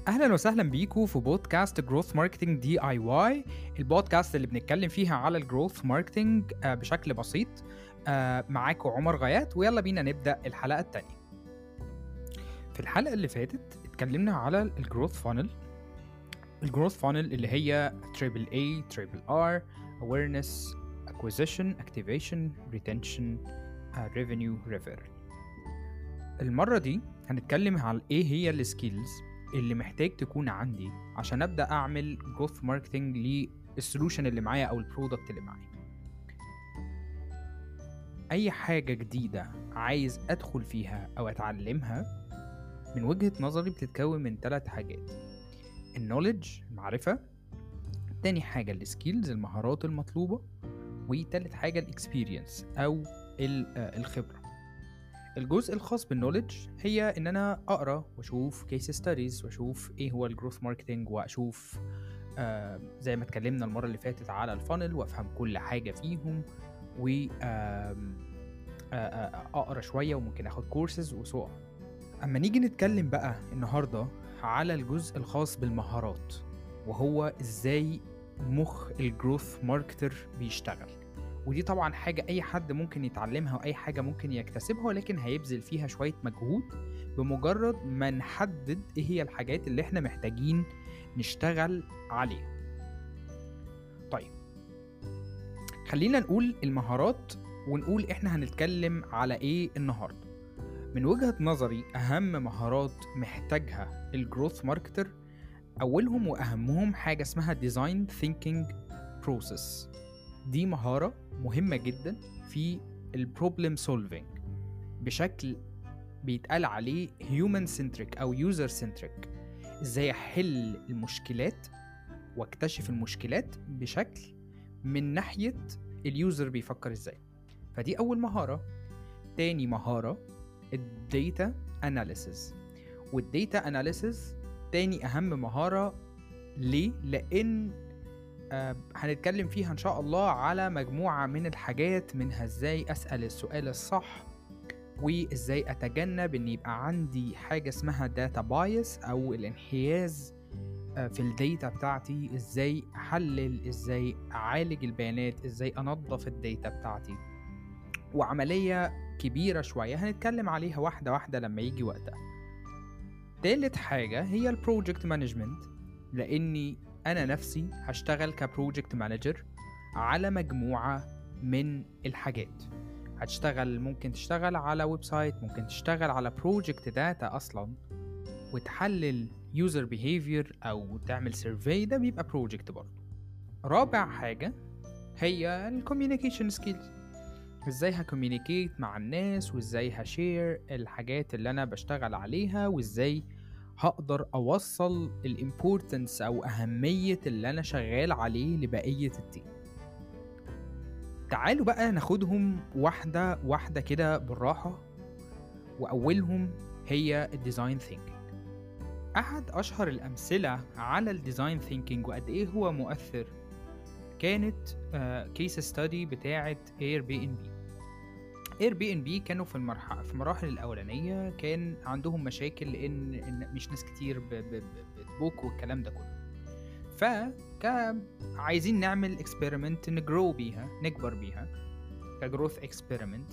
اهلا وسهلا بيكم في بودكاست جروث ماركتنج دي اي واي، البودكاست اللي بنتكلم فيها على الجروث ماركتنج بشكل بسيط. معاكم عمر غيات، ويلا بينا نبدا الحلقه الثانيه. في الحلقه اللي فاتت اتكلمنا على الجروث فانل. الجروث فانل اللي هي تريبل اي تريبل ار: awareness, acquisition, activation, retention, revenue, referral. المره دي هنتكلم على ايه هي السكيلز اللي محتاج تكون عندي عشان ابدا اعمل جروث ماركتنج للسولوشن اللي معايا او البرودكت اللي معايا. اي حاجه جديده عايز ادخل فيها او اتعلمها من وجهه نظري بتتكون من 3 حاجات: النوليدج، المعرفه، تاني حاجه السكيلز، المهارات المطلوبه، وتالت حاجه الاكسبيرينس او الخبره. الجزء الخاص بالنوليدج هي ان انا اقرا واشوف كيس ستاديز واشوف ايه هو الجروث ماركتنج، واشوف زي ما اتكلمنا المره اللي فاتت على الفانل، وافهم كل حاجه فيهم، و اقرا شويه وممكن اخد كورسز وسو. اما نيجي نتكلم بقى النهارده على الجزء الخاص بالمهارات، وهو ازاي مخ الجروث ماركتر بيشتغل. ودي طبعا حاجة أي حد ممكن يتعلمها وأي حاجة ممكن يكتسبها، ولكن هيبذل فيها شوية مجهود بمجرد ما نحدد إيه هي الحاجات اللي إحنا محتاجين نشتغل عليها. طيب، خلينا نقول المهارات ونقول إحنا هنتكلم على إيه النهاردة. من وجهة نظري أهم مهارات محتاجها الجروث ماركتر، أولهم وأهمهم حاجة اسمها Design Thinking Process. دي مهارة مهمة جدا في البروبلم سولفينج، بشكل بيتقال عليه human centric أو user centric. ازاي احل المشكلات واكتشف المشكلات بشكل من ناحية اليوزر بيفكر ازاي. فدي أول مهارة. تاني مهارة الديتا أناليسيز، والديتا أناليسيز تاني أهم مهارة. ليه؟ لأن هنتكلم فيها إن شاء الله على مجموعة من الحاجات، منها إزاي أسأل السؤال الصح، وإزاي أتجنب إن يبقى عندي حاجة اسمها داتا بايس أو الانحياز في الديتا بتاعتي، إزاي أحلل، إزاي أعالج البيانات، إزاي أنظف الديتا بتاعتي. وعملية كبيرة شوية هنتكلم عليها واحدة واحدة لما يجي وقتها. تالت حاجة هي البروجكت مانجمنت، لأني أنا نفسي هشتغل كبروجكت مانجر على مجموعة من الحاجات. هتشتغل، ممكن تشتغل على ويب سايت، ممكن تشتغل على بروجكت داتا أصلا وتحلل يوزر بيهيفير أو تعمل سيرفي، ده بيبقى بروجكت برضه. رابع حاجة هي الكوميونيكيشن سكيلز، ازاي هكوميونيكيت مع الناس، وازاي هشير الحاجات اللي أنا بشتغل عليها، وازاي هقدر أوصل الامبورتنس أو أهمية اللي أنا شغال عليه لبقية التيم. تعالوا بقى ناخدهم واحدة واحدة كده بالراحة، وأولهم هي الديزاين ثينكينج. أحد أشهر الأمثلة على الديزاين ثينكينج وقد إيه هو مؤثر كانت كيس ستادي بتاعة Airbnb كانوا في المراحل الأولانية كان عندهم مشاكل لأن مش ناس كتير بتبوك والكلام ده كله. عايزين نعمل اكسبيرمنت نكبر بيها كجروث اكسبيرمنت.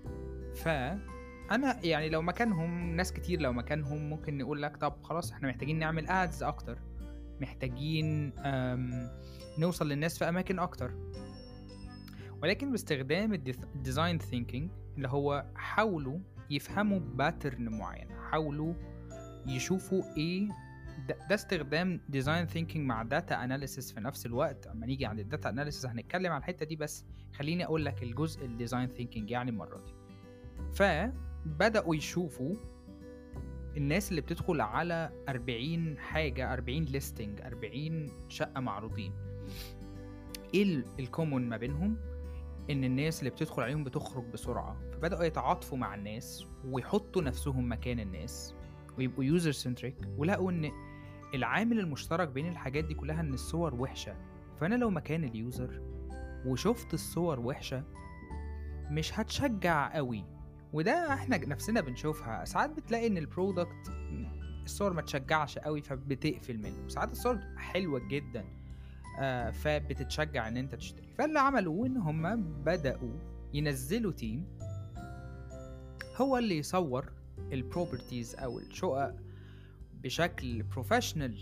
فأنا يعني لو مكانهم، ناس كتير لو مكانهم ممكن نقول لك طب خلاص احنا محتاجين نعمل ادز أكتر، محتاجين نوصل للناس في أماكن أكتر. ولكن باستخدام الديزاين ثينكينج اللي هو حاولوا يفهموا باترن معين، حاولوا يشوفوا ايه ده استخدام ديزاين ثينكينج مع داتا اناليسيس في نفس الوقت. اما نيجي عند الداتا اناليسيس هنتكلم على الحته دي، بس خليني اقول لك الجزء الديزاين ثينكينج يعني المره دي. فبداوا يشوفوا الناس اللي بتدخل على 40 حاجه، 40 ليستنج، 40 شقه معروضين، ايه الكومون ما بينهم؟ ان الناس اللي بتدخل عليهم بتخرج بسرعه. فبداوا يتعاطفوا مع الناس ويحطوا نفسهم مكان الناس ويبقوا يوزر سنتريك، ولقوا ان العامل المشترك بين الحاجات دي كلها ان الصور وحشه. فانا لو مكان اليوزر وشفت الصور وحشه مش هتشجع قوي. وده احنا نفسنا بنشوفها ساعات، بتلاقي ان البرودكت الصور ما تشجعش قوي فبتقفل منه، وساعات الصور بتبقى حلوة جدا فبتتشجع ان انت تشتري. فاللي عملوه ان هم بدأوا ينزلوا تيم هو اللي يصور البروبرتيز او الشقق بشكل بروفيشنال.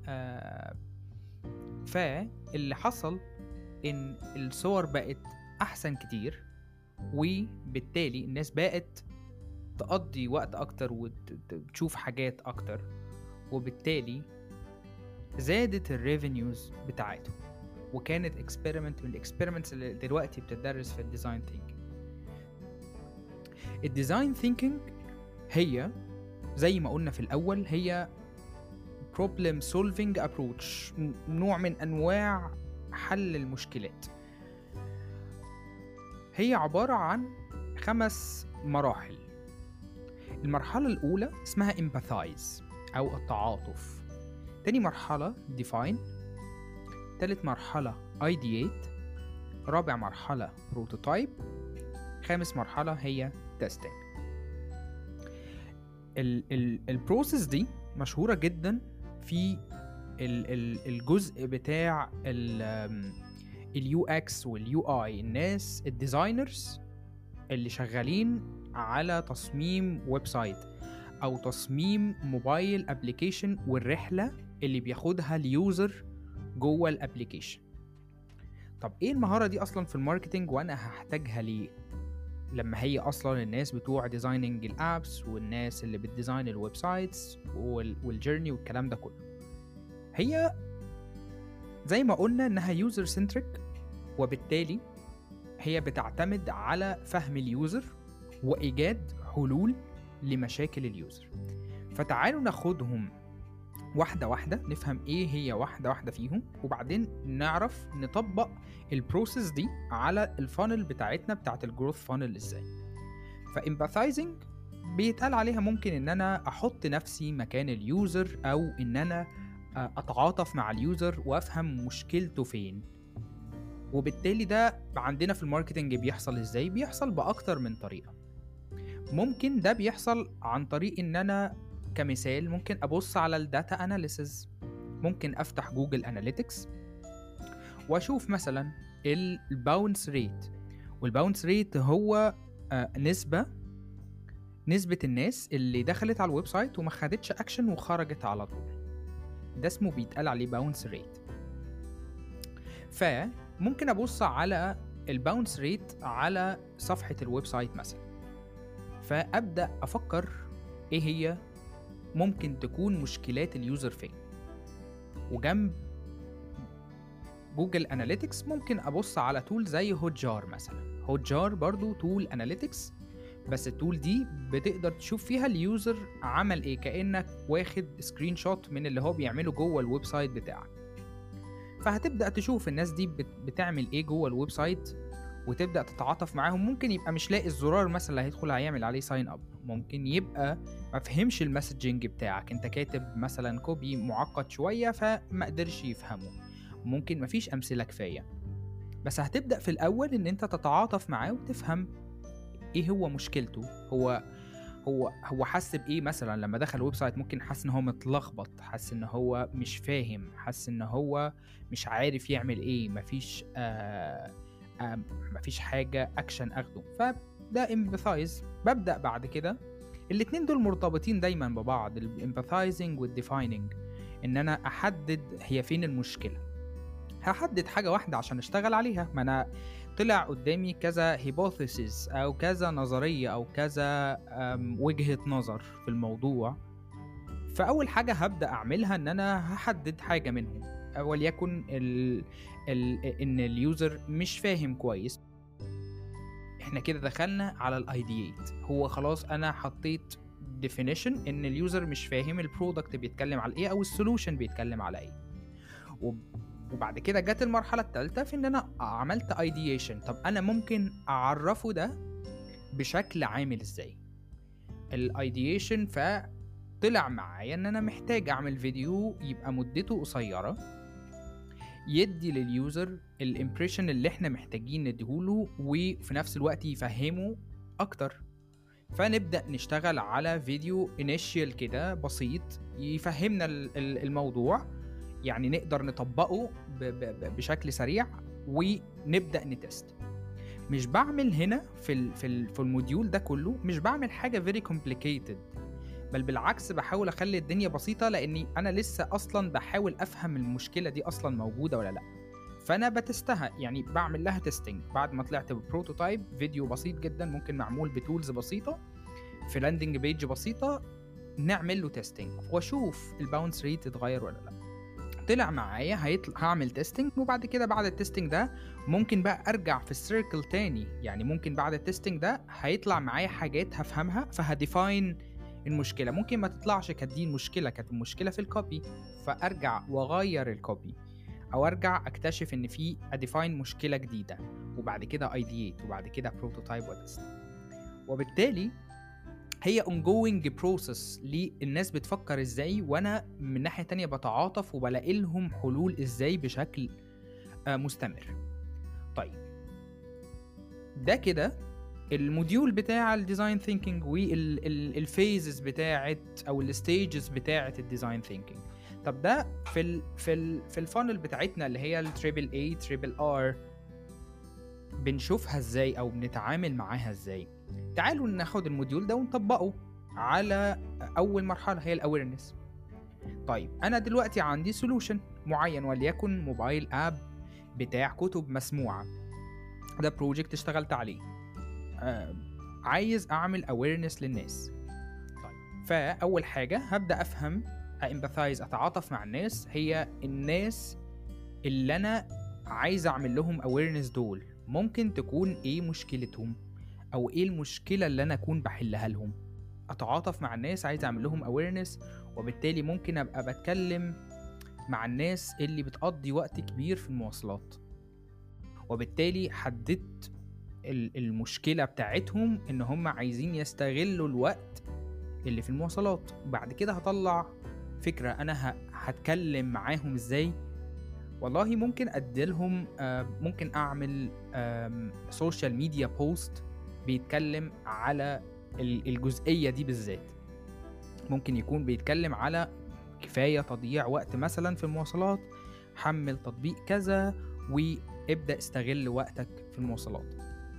فاللي حصل ان الصور بقت احسن كتير، وبالتالي الناس بقت تقضي وقت اكتر وتشوف حاجات اكتر، وبالتالي زادت الريفينيوز بتاعتهم. وكانت اكسبيرمنت من الاكسبيرمنتس اللي دلوقتي بتدرس في الديزاين ثينكينج. الديزاين ثينكينج هي زي ما قلنا في الاول هي problem solving approach، نوع من انواع حل المشكلات. هي عبارة عن 5 مراحل. المرحلة الأولى اسمها empathize أو التعاطف. تاني مرحلة define. تالت مرحلة ideate. رابع مرحلة prototype. خامس مرحلة هي testing. البروسيس دي مشهورة جدا في الجزء بتاع اليو اكس واليو اي. الناس الديزاينرز اللي شغالين على تصميم ويب سايت او تصميم موبايل ابليكيشن، والرحلة اللي بياخدها اليوزر جوه الابليكيشن. طب ايه المهارة دي اصلا في الماركتينج وانا هحتاجها ليه لما هي اصلا الناس بتوع ديزايننج الابس والناس اللي بتديزاين الويب سايتس والجيرني والكلام ده كله؟ هي زي ما قلنا انها يوزر سنتريك، وبالتالي هي بتعتمد على فهم اليوزر وايجاد حلول لمشاكل اليوزر. فتعالوا ناخدهم واحدة واحدة، نفهم ايه هي واحدة واحدة فيهم، وبعدين نعرف نطبق البروسيس دي على الفانل بتاعتنا بتاعت الجروث فانل ازاي. فامباثايزنج بيتقال عليها ممكن ان انا احط نفسي مكان اليوزر، او ان انا اتعاطف مع اليوزر وافهم مشكلته فين. وبالتالي ده عندنا في الماركتنج بيحصل ازاي؟ بيحصل باكتر من طريقة. ممكن ده بيحصل عن طريق ان انا كمثال ممكن ابص على الداتا اناليسز، ممكن افتح جوجل اناليتكس واشوف مثلا الباونس ريت. والباونس ريت هو نسبة الناس اللي دخلت على الويب سايت وما خدتش اكشن وخرجت على طول، ده اسمه بيتقال عليه باونس ريت. فممكن ابص على الباونس ريت على صفحة الويب سايت مثلا، فابدأ افكر ايه هي ممكن تكون مشكلات اليوزر فين. وجنب جوجل اناليتكس ممكن ابص على تول زي هوت جار مثلا. هوت جار برضو تول اناليتكس، بس التول دي بتقدر تشوف فيها اليوزر عمل ايه، كأنك واخد سكرين شوت من اللي هو بيعمله جوه الويب سايت بتاعك. فهتبدأ تشوف الناس دي بتعمل ايه جوه الويب سايت وتبدأ تتعاطف معاهم. ممكن يبقى مش لاقي الزرار مثلا اللي هيدخل هيعمل عليه ساين اب، ممكن يبقى ما فهمش المسجنج بتاعك، انت كاتب مثلا كوبي معقد شوية فما قدرش يفهمه، ممكن ما فيش امثلة كفاية. بس هتبدأ في الاول ان انت تتعاطف معاه وتفهم ايه هو مشكلته. هو حس بايه مثلا لما دخل الويب سايت؟ ممكن حس ان هو متلخبط، حس ان هو مش فاهم، حس ان هو مش عارف يعمل ايه، مفيش حاجة اكشن اخده. فده امباثايز. ببدأ بعد كده الاتنين دول مرتبطين دايما ببعض، الامباثايزنج والديفايننج، ان انا احدد هي فين المشكلة. هحدد حاجة واحدة عشان اشتغل عليها، ما انا طلع قدامي كذا هيبوثيسيس او كذا نظرية او كذا وجهة نظر في الموضوع. فاول حاجة هبدأ اعملها ان انا هحدد حاجة منهم، وليكن ان اليوزر مش فاهم كويس. احنا كده دخلنا على الايديات. هو خلاص انا حطيت definition ان اليوزر مش فاهم البرودكت بيتكلم على ايه او السولوشن بيتكلم على ايه. وبعد كده جت المرحلة الثالثة في ان انا عملت ideation. طب انا ممكن اعرفه ده بشكل عامل ازاي؟ الايديشن فطلع معايا ان انا محتاج اعمل فيديو يبقى مدته قصيرة، يدي لليوزر الامبريشن اللي احنا محتاجين نديهوله، وفي نفس الوقت يفهمه اكتر. فنبدأ نشتغل على فيديو انيشيال كده بسيط يفهمنا الموضوع، يعني نقدر نطبقه بشكل سريع ونبدأ نتست. مش بعمل هنا في الموديول ده كله، مش بعمل حاجة very complicated، بل بالعكس بحاول اخلي الدنيا بسيطة، لاني انا لسه اصلا بحاول افهم المشكلة دي اصلا موجودة ولا لا. فانا بتستها، يعني بعمل لها تيستنج بعد ما طلعت ببروتوتايب فيديو بسيط جدا، ممكن معمول بتولز بسيطة في لاندنج بيج بسيطة، نعمل له تيستنج واشوف الباونس ريت اتغير ولا لا. طلع معايا هعمل تيستنج، وبعد كده بعد التيستنج ده ممكن بقى ارجع في السيركل تاني، يعني ممكن بعد التيستنج ده هيطلع معايا حاجات هفهمها فهديفاين المشكله. ممكن ما تطلعش كانت دي المشكله، كانت المشكله في الكوبي، فارجع واغير الكوبي، او ارجع اكتشف ان في اديفاين مشكله جديده، وبعد كده ايديت، وبعد كده بروتوتايب وتست. وبالتالي هي ongoing process للناس بتفكر ازاي، وانا من ناحية تانية بتعاطف وبلاقي لهم حلول ازاي بشكل مستمر. طيب ده كده الموديول بتاع الديزاين ثينكينج والفيزز بتاعت او الستيجز بتاعت الديزاين ثينكينج. طب ده في الفانل بتاعتنا اللي هي التريبل اي تريبل ار بنشوفها ازاي او بنتعامل معاها ازاي؟ تعالوا ناخد الموديول ده ونطبقه على اول مرحله هي الاويرنس. طيب انا دلوقتي عندي سولوشن معين، وليكن موبايل اب بتاع كتب مسموعه، ده بروجكت اشتغلت عليه، عايز اعمل اويرنس للناس. طيب فاول حاجه هبدا افهم امباثايز، اتعاطف مع الناس، هي الناس اللي انا عايز اعمل لهم اويرنس دول ممكن تكون ايه مشكلتهم، او ايه المشكله اللي انا اكون بحلها لهم. اتعاطف مع الناس، عايز اعمل لهم اويرنس، وبالتالي ممكن ابقى بتكلم مع الناس اللي بتقضي وقت كبير في المواصلات، وبالتالي حددت المشكله بتاعتهم ان هم عايزين يستغلوا الوقت اللي في المواصلات. وبعد كده هطلع فكره انا هتكلم معاهم ازاي. والله ممكن اديلهم ممكن اعمل سوشيال ميديا بوست بيتكلم على الجزئية دي بالذات. ممكن يكون بيتكلم على كفاية تضييع وقت مثلا في المواصلات، حمل تطبيق كذا وابدأ استغل وقتك في المواصلات،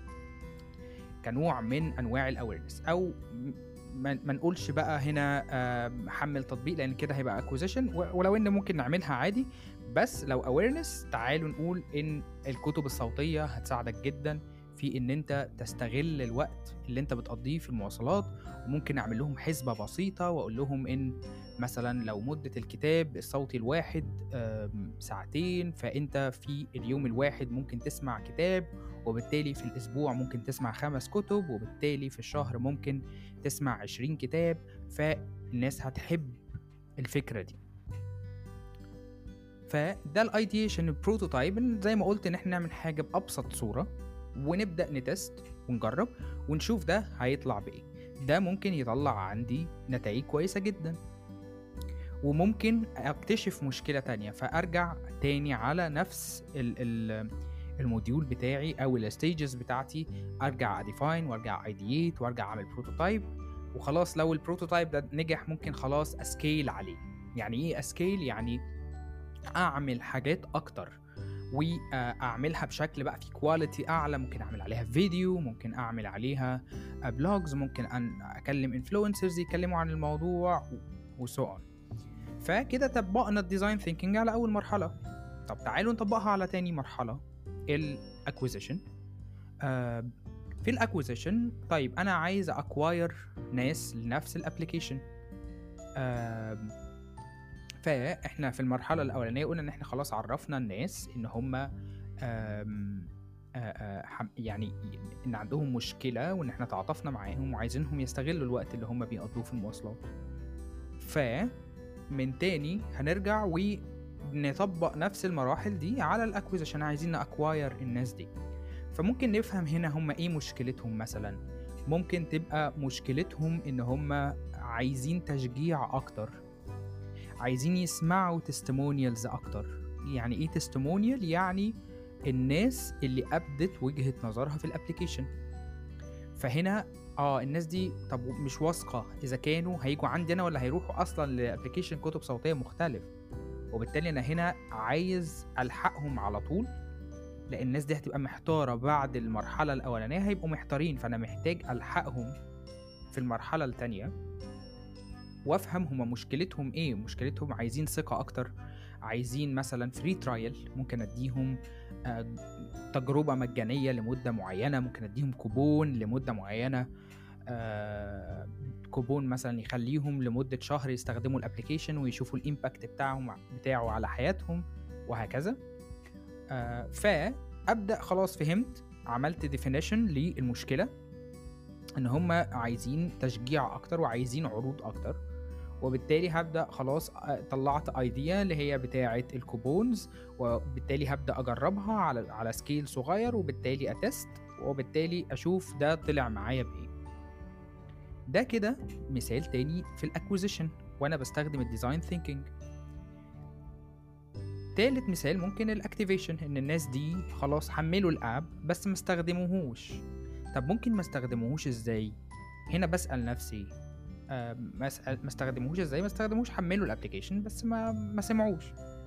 كنوع من انواع الاويرنس. او ما نقولش بقى هنا حمل تطبيق لان كده هيبقى اكوزيشن، ولو ان ممكن نعملها عادي، بس لو اويرنس تعالوا نقول ان الكتب الصوتية هتساعدك جدا في ان انت تستغل الوقت اللي انت بتقضيه في المواصلات. وممكن اعمل لهم حسبة بسيطة واقول لهم ان مثلا لو مدة الكتاب الصوتي الواحد 2 ساعتين، فانت في اليوم الواحد ممكن تسمع كتاب، وبالتالي في الاسبوع ممكن تسمع 5 كتب، وبالتالي في الشهر ممكن تسمع 20 كتاب. فالناس هتحب الفكرة دي. فده الايديشن البروتوتايب، زي ما قلت ان احنا نعمل حاجة بأبسط صورة ونبدأ نتست ونجرب ونشوف ده هيطلع بإيه. ده ممكن يطلع عندي نتائج كويسة جدا، وممكن اكتشف مشكلة تانية فأرجع تاني على نفس الموديول بتاعي أو الستيجز بتاعتي، أرجع أديفاين وأرجع أيديت وأرجع أعمل بروتوتايب. وخلاص لو البروتوتايب ده نجح ممكن خلاص أسكيل عليه. يعني إيه أسكيل؟ يعني أعمل حاجات أكتر واعملها بشكل بقى في كواليتي اعلى، ممكن اعمل عليها فيديو، ممكن اعمل عليها بلوجز، ممكن اكلم انفلونسرز يتكلموا عن الموضوع وسو اون. فكده طبقنا الديزاين ثينكينج على اول مرحله. طب تعالوا نطبقها على تاني مرحله، الاكوزيشن. في الاكوزيشن طيب انا عايز اكواير ناس لنفس الابليكيشن. فاحنا في المرحله الاولانيه قلنا ان احنا خلاص عرفنا الناس ان هم يعني ان عندهم مشكله، وان احنا تعاطفنا معاهم وعايزينهم يستغلوا الوقت اللي هم بيقضوه في المواصلات. فمن تاني هنرجع ونطبق نفس المراحل دي على الاكويزيشن، عايزين نأكواير الناس دي. فممكن نفهم هنا هم ايه مشكلتهم. مثلا ممكن تبقى مشكلتهم ان هم عايزين تشجيع اكتر، عايزين يسمعوا تستمونيالز اكتر. يعني ايه تستمونيال؟ يعني الناس اللي ابدت وجهة نظرها في الابليكيشن. فهنا الناس دي طب مش واثقة إذا كانوا هيجوا عندي أنا ولا هيروحوا أصلا لأبلكيشن كتب صوتية مختلف، وبالتالي أنا هنا عايز ألحقهم على طول، لأن الناس دي هتبقى محتارة بعد المرحلة الأولانية، هيبقوا محتارين، فأنا محتاج ألحقهم في المرحلة التانية وأفهم هما مشكلتهم إيه. مشكلتهم عايزين ثقة أكتر، عايزين مثلا فري ترايل، ممكن أديهم تجربة مجانية لمدة معينة، ممكن أديهم كوبون لمدة معينة، كوبون مثلا يخليهم لمدة شهر يستخدموا الابليكيشن ويشوفوا الامباكت بتاعه على حياتهم وهكذا. فأبدأ خلاص فهمت، عملت ديفينيشن للمشكلة ان هم عايزين تشجيع اكتر وعايزين عروض اكتر، وبالتالي هبدأ خلاص طلعت ايديا اللي هي بتاعة الكوبونز، وبالتالي هبدأ اجربها على سكيل صغير، وبالتالي اتست، وبالتالي اشوف ده طلع معايا بايه. ده كده مثال تاني في الاكوزيشن وانا بستخدم الديزاين ثينكينج. تالت مثال ممكن الاكتيفيشن، ان الناس دي خلاص حملوا الاب بس ما استخدموهوش. طب ممكن ما استخدموهوش ازاي؟ هنا بسأل نفسي ما استخدموهوش ازاي؟ ما استخدموهوش، حملوا الابليكيشن بس ما سمعوش.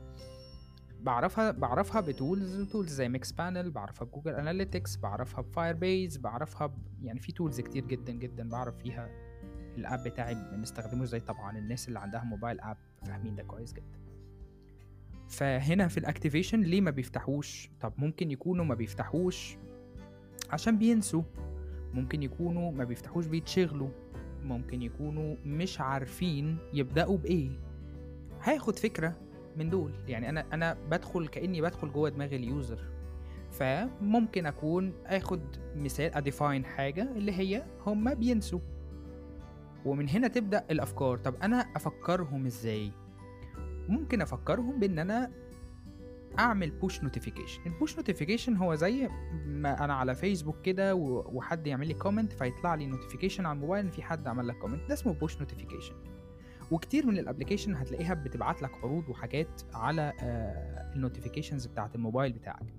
بعرفها بتولز زي ميكس بانل، بعرفها بجوجل اناليتكس، بعرفها بفاير بيز، بعرفها يعني في تولز كتير جدا جدا بعرف فيها الاب بتاعي بنستخدمه ازاي. طبعا الناس اللي عندها موبايل اب فاهمين ده كويس جدا. فهنا في الاكتيفيشن ليه ما بيفتحوش؟ طب ممكن يكونوا ما بيفتحوش عشان بينسوا، ممكن يكونوا ما بيفتحوش بيتشغلوا، ممكن يكونوا مش عارفين يبدأوا بإيه. هاخد فكرة من دول، يعني أنا بدخل كأني بدخل جوه دماغ اليوزر، فممكن أكون أخد مثال أديفاين حاجة اللي هي هم بينسوا، ومن هنا تبدأ الأفكار. طب أنا أفكرهم إزاي؟ ممكن أفكرهم بأن أنا اعمل بوش نوتيفيكيشن. البوش نوتيفيكيشن هو زي ما انا على فيسبوك كده وحد يعمل لي كومنت فيطلع لي نوتيفيكيشن على الموبايل ان في حد عمل لك كومنت، ده اسمه بوش نوتيفيكيشن. وكتير من الابلكيشن هتلاقيها بتبعت لك عروض وحاجات على النوتيفيكيشنز بتاعه الموبايل بتاعك.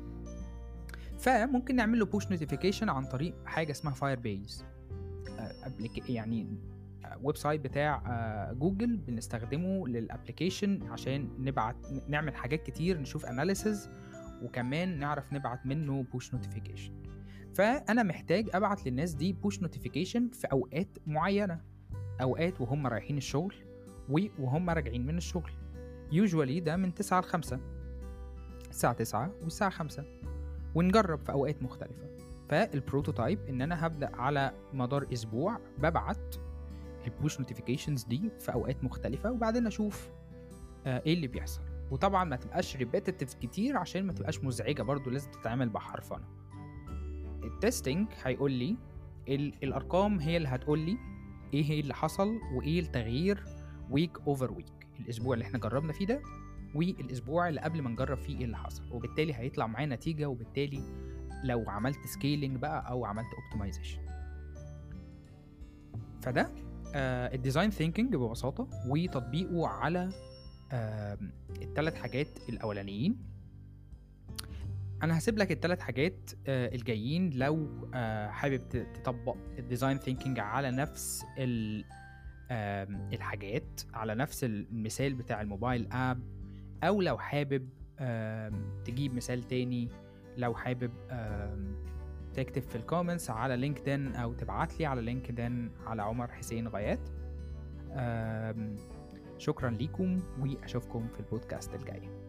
فممكن نعمل له بوش نوتيفيكيشن عن طريق حاجه اسمها فاير بيز، يعني ويب سايت بتاع جوجل بنستخدمه للابليكيشن عشان نعمل حاجات كتير، نشوف اناليسز، وكمان نعرف نبعت منه بوش نوتيفيكيشن. فانا محتاج ابعت للناس دي بوش نوتيفيكيشن في اوقات معينه، اوقات وهم رايحين الشغل وهم راجعين من الشغل. يوجوالي ده من 9 ل 5، الساعه 9 والساعه 5، ونجرب في اوقات مختلفه. فالبروتوتايب ان انا هبدا على مدار اسبوع ببعت البوش نوتيفيكيشنز دي في اوقات مختلفه، وبعدين اشوف ايه اللي بيحصل. وطبعا ما تبقاش ريبيتيتيف كتير عشان ما تبقاش مزعجه، برضو لازم تتعامل بحرفنه. التستنج هيقول لي الارقام هي اللي هتقول لي ايه اللي حصل وايه التغيير ويك اوفر ويك، الاسبوع اللي احنا جربنا فيه ده والاسبوع اللي قبل ما نجرب فيه ايه اللي حصل، وبالتالي هيطلع معايا نتيجه. وبالتالي لو عملت سكيلينج بقى او عملت اوبتمايزيشن، فده الديزاين ثينكينج ببساطه وتطبيقه على الثلاث حاجات الاولانيين. انا هسيب لك الثلاث حاجات الجايين لو حابب تطبق الديزاين ثينكينج على نفس الحاجات، على نفس المثال بتاع الموبايل اب، او لو حابب تجيب مثال تاني، لو حابب تكتب في الكومنتس على لينكدين او تبعت لي على لينكدين على عمر حسين غايات. شكرا ليكم واشوفكم في البودكاست الجاي.